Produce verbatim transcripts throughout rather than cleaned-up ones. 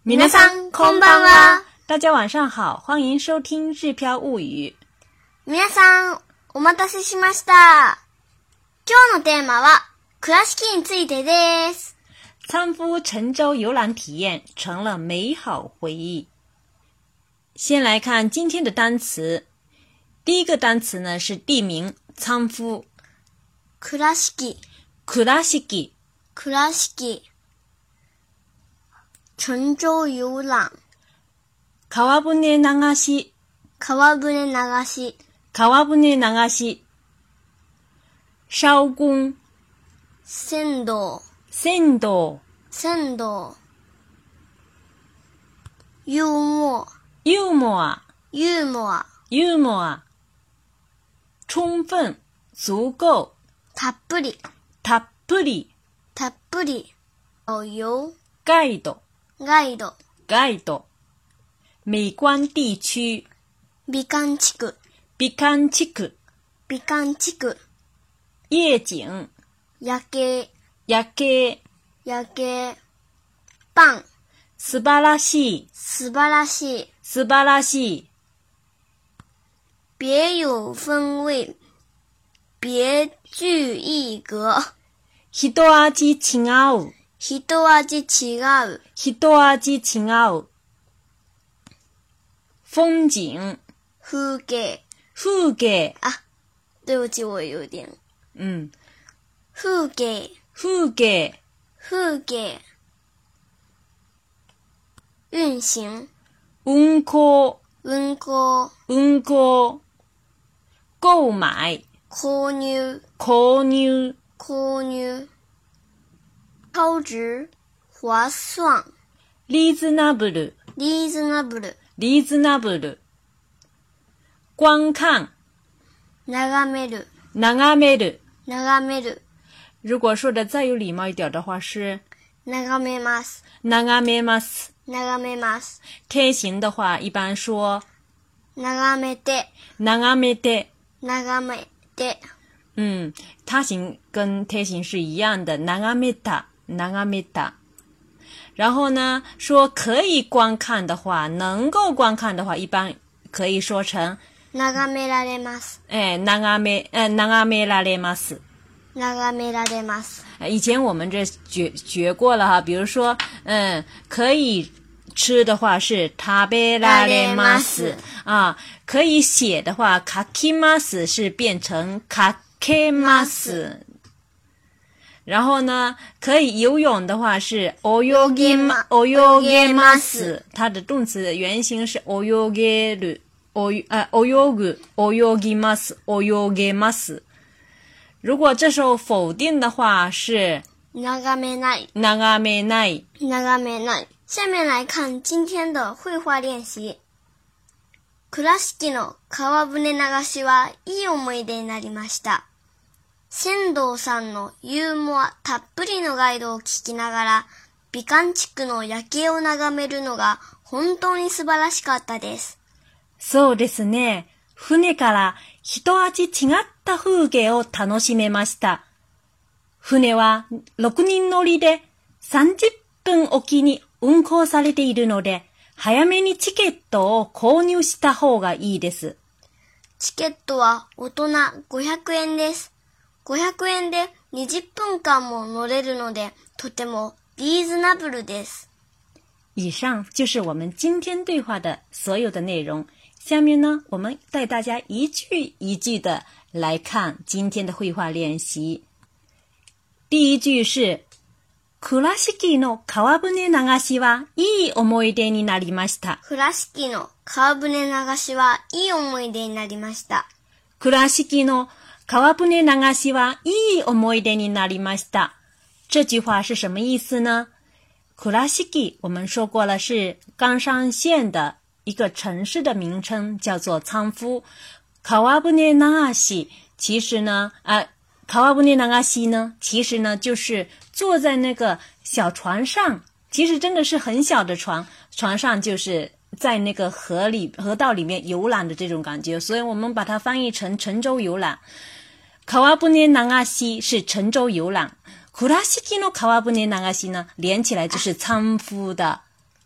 皆さんこんばんは。 大家晚上好，欢迎收听日飘物语。 皆さんお待たせしました。今日のテーマは倉敷についてです。 参夫沉舟游览体验成了美好回忆。先来看今天的单词，第一个单词呢是地名参夫。 倉敷、 倉敷、 倉敷、沉舟遊覧、 川船流し、 川船流し、 川船流し、燒工、 船頭、 船頭、 船頭、ユーモア、 ユーモア、 ユーモア、 ユーモア、充分、足夠、 たっぷり、 たっぷり、 たっぷり、遊、 ガイド、 ガイド、 ガイド、美观地区、 美観地区、 美観地区、 美観地区、 夜景、 夜景、 夜景、 夜景、パン、 素晴らしい、 素晴らしい、 素晴らしい、 别有风味、别具一格、 一味違う、 一味違う、 一味違う、風景、 風景、 風景、 啊，对不起，我有点， 嗯， 風景、 風景、 風景、運行、 運行、 運行、 運行、購買、 購入、 購入、 購入、超值、划算、 リーズナブル、 リーズナブル、 リーズナブル、观看、 眺める、 眺める。 眺める、 如果说的再有礼貌一点的话是眺めます、 眺めます。 眺めます。 天行的话一般说眺めて、 眺めて。 眺めて。 嗯，他行跟天行是一样的，眺めた、眺めた。然后呢，说可以观看的话，能够观看的话，一般可以说成眺められます。 哎，眺め、呃，眺められます。 眺められます。 以前我们这学学过了哈，比如说，嗯，可以吃的话是食べられます啊，可以写的话書きます是变成書けます。然后呢，可以游泳的话是泳ぎま、泳げます。它的动词原型是泳げる、泳呃泳ぐ、泳ぎます、泳げます。如果这时候否定的话是眺めない、 眺めない、 眺めない。下面来看今天的绘画练習。倉敷の川船流しはいい思い出になりました。船頭さんのユーモアたっぷりのガイドを聞きながら、美観地区の夜景を眺めるのが本当に素晴らしかったです。 そうですね。船から一味違った風景を楽しめました。船はろくにん乗りでさんじゅっぷんおきに運行されているので、早めにチケットを購入した方がいいです。 チケットは大人ごひゃくえんです。ごひゃくえんでにじゅっぷんかんも乗れるので、とてもリーズナブルです。 以上就是我们今天对话的所有的内容。下面呢，我们带大家一句一句的来看今天的绘画练习。第一句是倉敷の川船流しはいい思い出になりました。 倉敷の川船流しはいい思い出になりました。 倉敷の川船流しはいい思い出になりました。这句话是什么意思呢？倉敷我们说过了是冈山县的一个城市的名称，叫做参夫。川船流し其实呢，呃，川船流し呢，其实呢就是坐在那个小船上，其实真的是很小的船，船上就是在那个河里河道里面游览的这种感觉，所以我们把它翻译成沉舟游览。川船流し是沉舟游览，倉敷の川船流し呢，连起来就是参夫的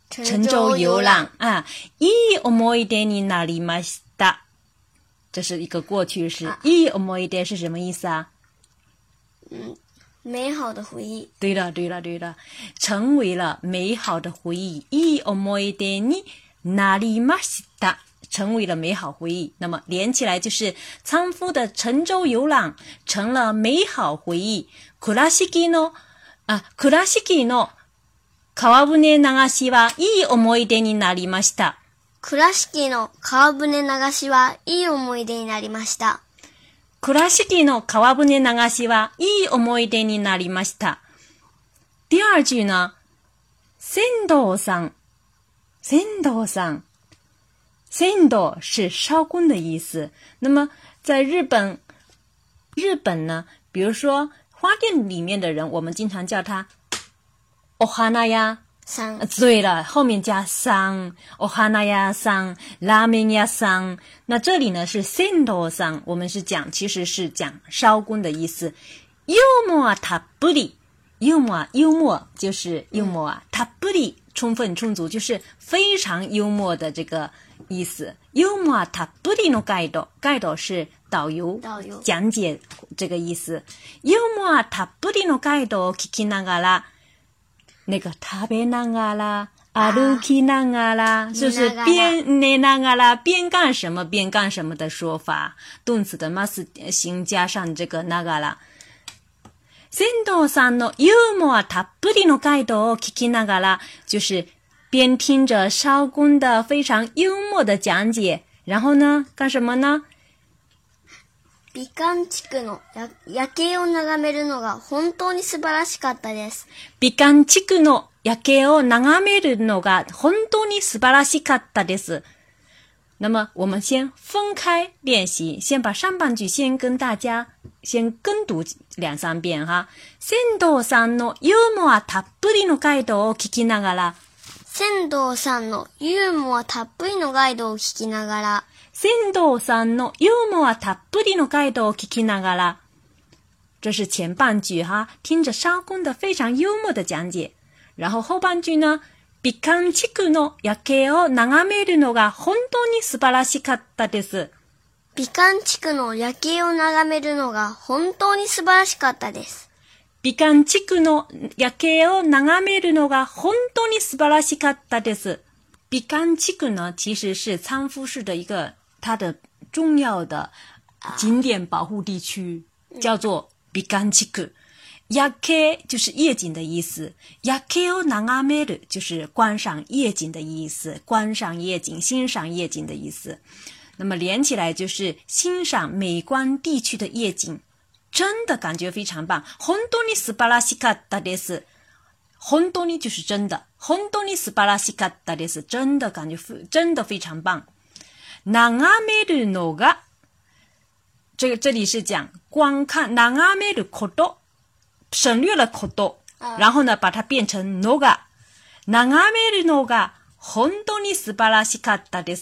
沉舟游览啊，いい思い出になりました。这是一个过去式。いい思い出是什么意思啊？ 嗯，美好的回忆。 对了，对了，对了，成为了美好的回忆。いい思い出になりました。成为了美好回忆，那么连起来就是仓夫的沉舟游览成了美好回忆。倉敷のあ倉敷の川船流しはいい思い出になりました。 倉敷の川船流しはいい思い出になりました。 倉敷の川船流しはいい思い出になりました。第二句呢，船頭さん，船頭さん。船頭是烧工的意思。那么在日本，日本呢，比如说花店里面的人，我们经常叫他お花屋さん。 对了，后面加さん，お花屋さん，拉面屋さん。那这里呢是船頭さん，我们是讲，其实是讲烧工的意思。幽默たっぷり，幽默幽默就是幽默啊，たっぷり充分充足，就是非常幽默的这个意思。幽默たっぷりのガイド，ガイド是导游， 导游讲解这个意思。幽默たっぷりのガイドを聞きながら，那个食べながら、歩きながら，就是边寝ながら边干什么边干什么的说法。动词的ます形加上这个ながら。船頭さんのユーモアたっぷりのガイドを聞きながら，就是边听着烧工的非常幽默的讲解，然后呢，干什么呢？ 美観地区の夜景を眺めるのが本当に素晴らしかったです。 美観地区の夜景を眺めるのが本当に素晴らしかったです。那么我们先分开练习，先把上半句先跟大家先跟读两三遍哈。船頭さんのユーモアたっぷりのガイドを聞きながら。 船頭さんのユーモアたっぷりのガイドを聞きながら。 船頭さんのユーモアたっぷりのガイドを聞きながら。这是前半句哈，听着烧工的非常幽默的讲解。然后后半句呢？美観地区の夜景を眺めるのが本当に素晴らしかったです。 美観地区の夜景を眺めるのが本当に素晴らしかったです。 美観地区の夜景を眺めるのが本当に素晴らしかったです。美観地区呢，其实是仓敷市的一个它的重要的景点保护地区，叫做美観地区。夜景就是夜景的意思，夜景を眺める就是观赏夜景的意思，观赏夜景、欣赏夜景的意思。那么连起来就是欣赏美观地区的夜景，真的感觉非常棒。本当に素晴らしかったです。本当に就是真的，本当に素晴らしかったです。真的感觉真的非常棒。眺めるのが，这个这里是讲观看，眺めること。省略了こと、然后呢把它变成のが、眺めるのが本当に素晴らしかったです。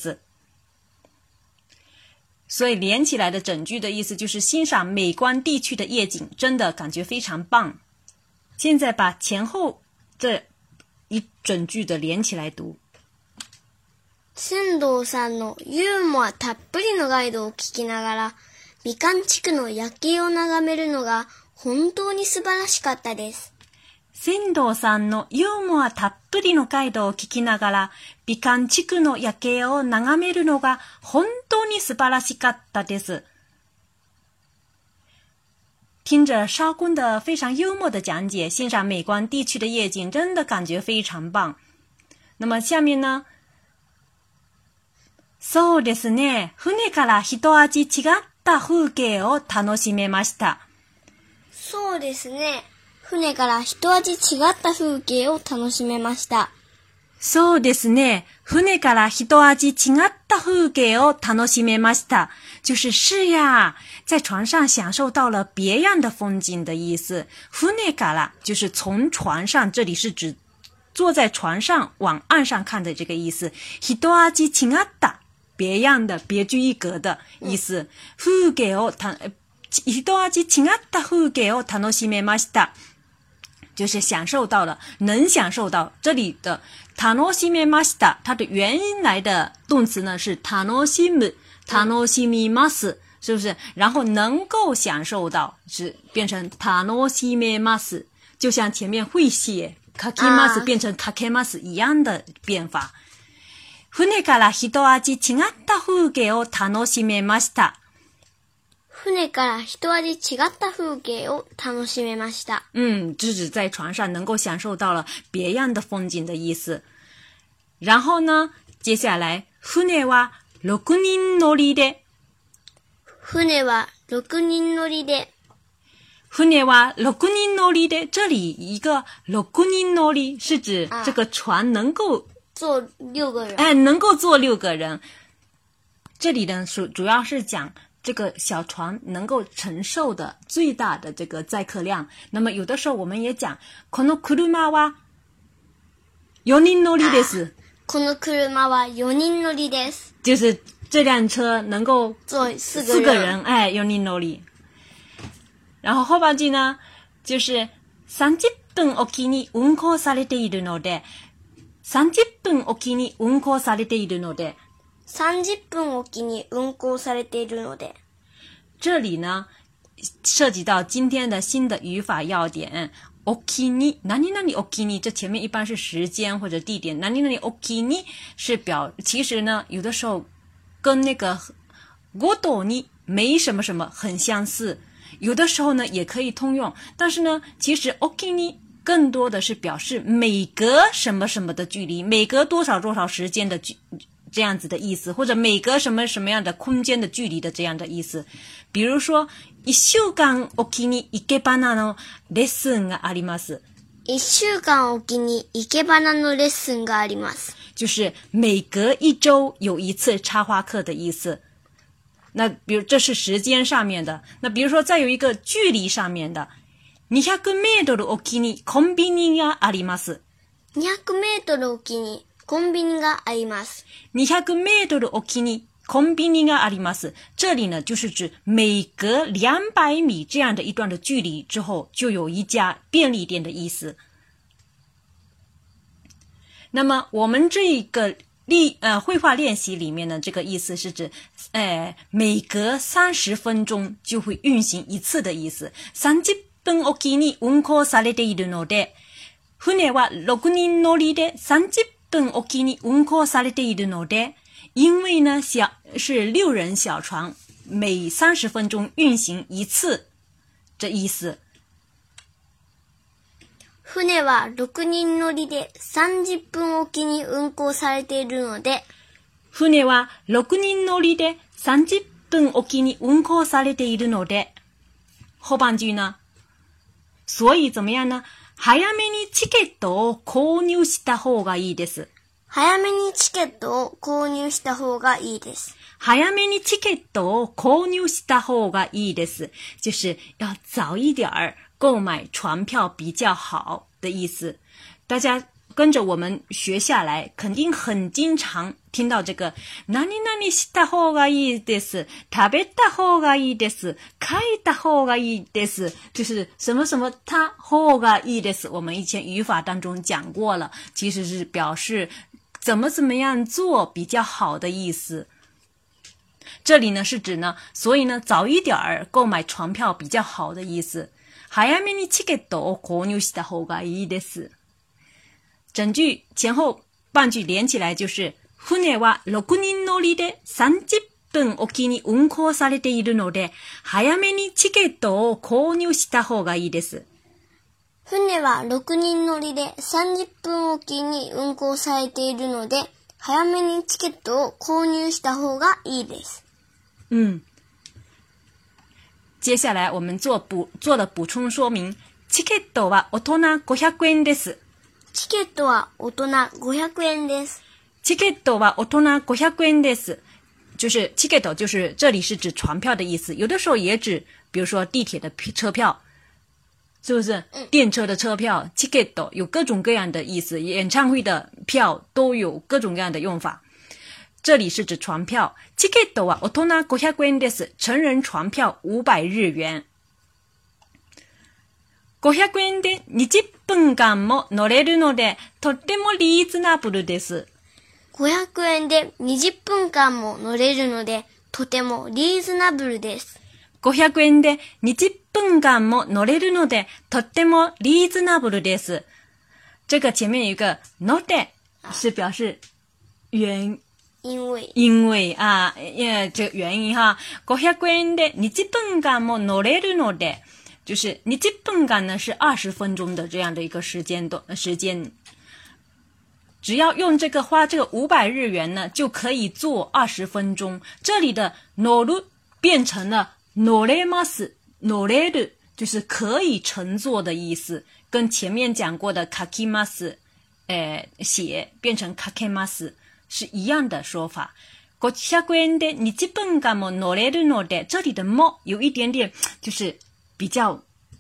所以连起来的整句的意思就是欣赏美观地区的夜景，真的感觉非常棒。现在把前后这一整句的连起来读。 船頭さんのユーモアたっぷりのガイドを聞きながら、美観地区の夜景を眺めるのが本当に素晴らしかったです。 船頭さんのユーモアたっぷりのガイドを聞きながら、美観地区の夜景を眺めるのが本当に素晴らしかったです。听着烧工的非常幽默的讲解，欣赏美观地区的夜景，真的感觉非常棒。那么下面呢？そうですね。船から一味違った風景を楽しめました。 そうですね。船から一味違った風景を楽しめました。 そうですね。船から一味違った風景を楽しめました。就是是呀，在船上享受到了别样的风景的意思。船から就是从船上，这里是指坐在船上往岸上看的这个意思。一味違った别样的、别具一格的意思。風景をた一味違った風景を楽しめました。就是享受到了，能享受到。这里的楽しめました，它的原来的动词呢是楽しむ、楽しみます，是不是？然后能够享受到是变成楽しめます，就像前面会写かけます变成かけます一样的变法。船から一味違った風景を楽しめました。 船から一味違った風景を楽しめました。 嗯，是指在船上能够享受到了别样的风景的意思。然后呢，接下来船は六人乗りで。 船は六人乗りで。 船は六人乗りで，这里一个六人乗り是指这个船能够坐六个人。 哎，能够坐六个人。这里呢，主主要是讲这个小船能够承受的最大的这个载客量。那么有的时候我们也讲，この車は四人乗りです。 この車は四人乗りです。 就是这辆车能够坐四个人。 四个人，哎，四人乗り。然后后半句呢，就是三十分おきに運行されているので。三十分おきに運行されているので。 三十分おきに運行されているので。 这里呢，涉及到今天的新的语法要点。おきに、何々おきに，这前面一般是时间或者地点。何々おきに是表，其实呢，有的时候跟那个ごとに没什么什么很相似。有的时候呢，也可以通用。但是呢，其实おきに更多的是表示每隔什么什么的距离，每隔多少多少时间的距这样子的意思，或者每隔什么什么样的空间的距离的这样的意思。比如说一週間おきに生け花のレッスンがあります。 一週間おきに生け花のレッスンがあります。 就是每隔一周有一次插花课的意思。那比如这是时间上面的，那比如说再有一个距离上面的。にひゃくメートルおきにコンビニがあります。 にひゃくメートルおきにコンビニがあります。 にひゃくメートルおきにコンビニがあります。这里呢，就是指每隔两百米这样的一段的距离之后，就有一家便利店的意思。那么我们这个例呃绘画练习里面呢，这个意思是指，呃，每隔三十分钟就会运行一次的意思。三十分おきに運行されているので、船は六人乗りで三十分おきに運行されているので。因为呢，小是六人小船，每三十分钟运行一次，这意思。 船は六人乗りで三十分おきに運行されているので。 船は六人乗りで三十分おきに運行されているので。後半句呢？所以怎么样呢？早めにチケットを購入した方がいいです。 早めにチケットを購入した方がいいです。 早めにチケットを購入した方がいいです。就是要早一点儿购买船票比较好的意思。大家跟着我们学下来，肯定很经常听到这个何々した方がいいです、食べた方がいいです、書いた方がいいです，就是什么什么た方がいいです。我们以前语法当中讲过了，其实是表示怎么怎么样做比较好的意思。这里呢是指呢，所以呢早一点儿购买船票比较好的意思。早めにチケットを購入した方がいいです。整句前後半句連起来就是、船は六人乗りで三十分おきに運行されているので、早めにチケットを購入した方がいいです。 船は六人乗りで三十分おきに運行されているので、早めにチケットを購入した方がいいです。 嗯，接下来我们做补做了补充说明。チケットは大人五百円です。 チケットは大人五百円です。 チケットは大人五百円です。就是チケット，就是这里是指船票的意思，有的时候也指，比如说地铁的车票。是不是电车的车票、チケット有各种各样的意思，演唱会的票都有各种各样的用法。这里是指船票。チケットは大人五百円です。成人船票五百日元。五百円でにじゅっ分間も乗れるので、とってもリーズナブルです。 ごひゃくえんでにじゅっぷんかんも乗れるので、とてもリーズナブルです。 ごひゃくえんでにじゅっぷんかんも乗れるので、とってもリーズナブルです。这个前面有一个ので是表示原因为因为啊，呃，这个原因哈。ごひゃくえんでにじゅっぷんかんも乗れるので，就是にじゅっぷんかん呢是二十分钟的这样的一个时间段时间。只要用这个花这个五百日元呢，就可以坐二十分钟。这里的乗る变成了乗れます，乗れる就是可以乘坐的意思，跟前面讲过的書きます，呃，写变成書けます是一样的说法。ごひゃくえんでにじゅっぷんかんも乗れるので，这里的も有一点点就是比较，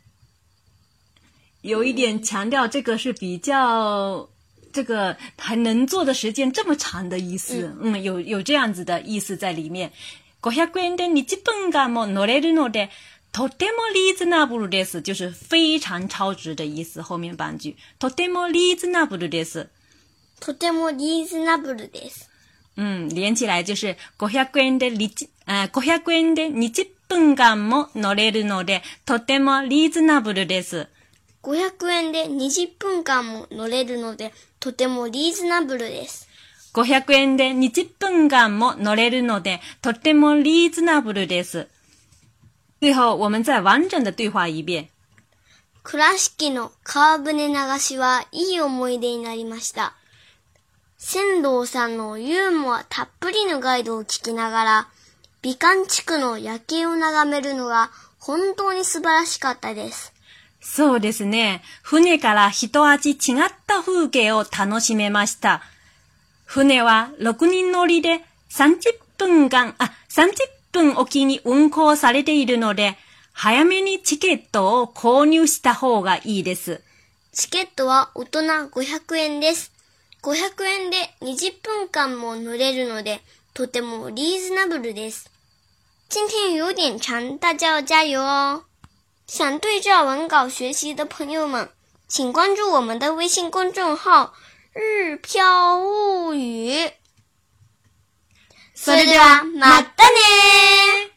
有一点强调这个是比较。这个还能做的时间这么长的意思，嗯，嗯有有这样子的意思在里面。ごひゃくえんでにじゅっぷんかんも乗れるので、とてもリーズナブルです，就是非常超值的意思。后面半句，とてもリーズナブルです。 とてもリーズナブルです。 嗯，連起來就是ごひゃくえんでにじ、呃、ごひゃくえんでにじゅっぷんかんも乗れるので、とてもリーズナブルです。 ごひゃくえんでにじゅっぷんかんも乗れるので、とてもリーズナブルです。 ごひゃくえんでにじゅっぷんかんも乗れるので、とてもリーズナブルです。最後、我们再完整的对话一遍。 倉敷の川船流しはいい思い出になりました。船頭さんのユーモアたっぷりのガイドを聞きながら、美観地区の夜景を眺めるのが本当に素晴らしかったです。 そうですね。船から一味違った風景を楽しめました。船はろくにん乗りでさんじゅっぷんかん、あ、さんじゅっぷんおきに運行されているので、早めにチケットを購入した方がいいです。 チケットは大人ごひゃくえんです。ごひゃくえんでにじゅっぷんかんも乗れるので、とてもリーズナブルです。今天有点长，大家要加油哦。想对照文稿学习的朋友们，请关注我们的微信公众号日飘物语。それではまたね。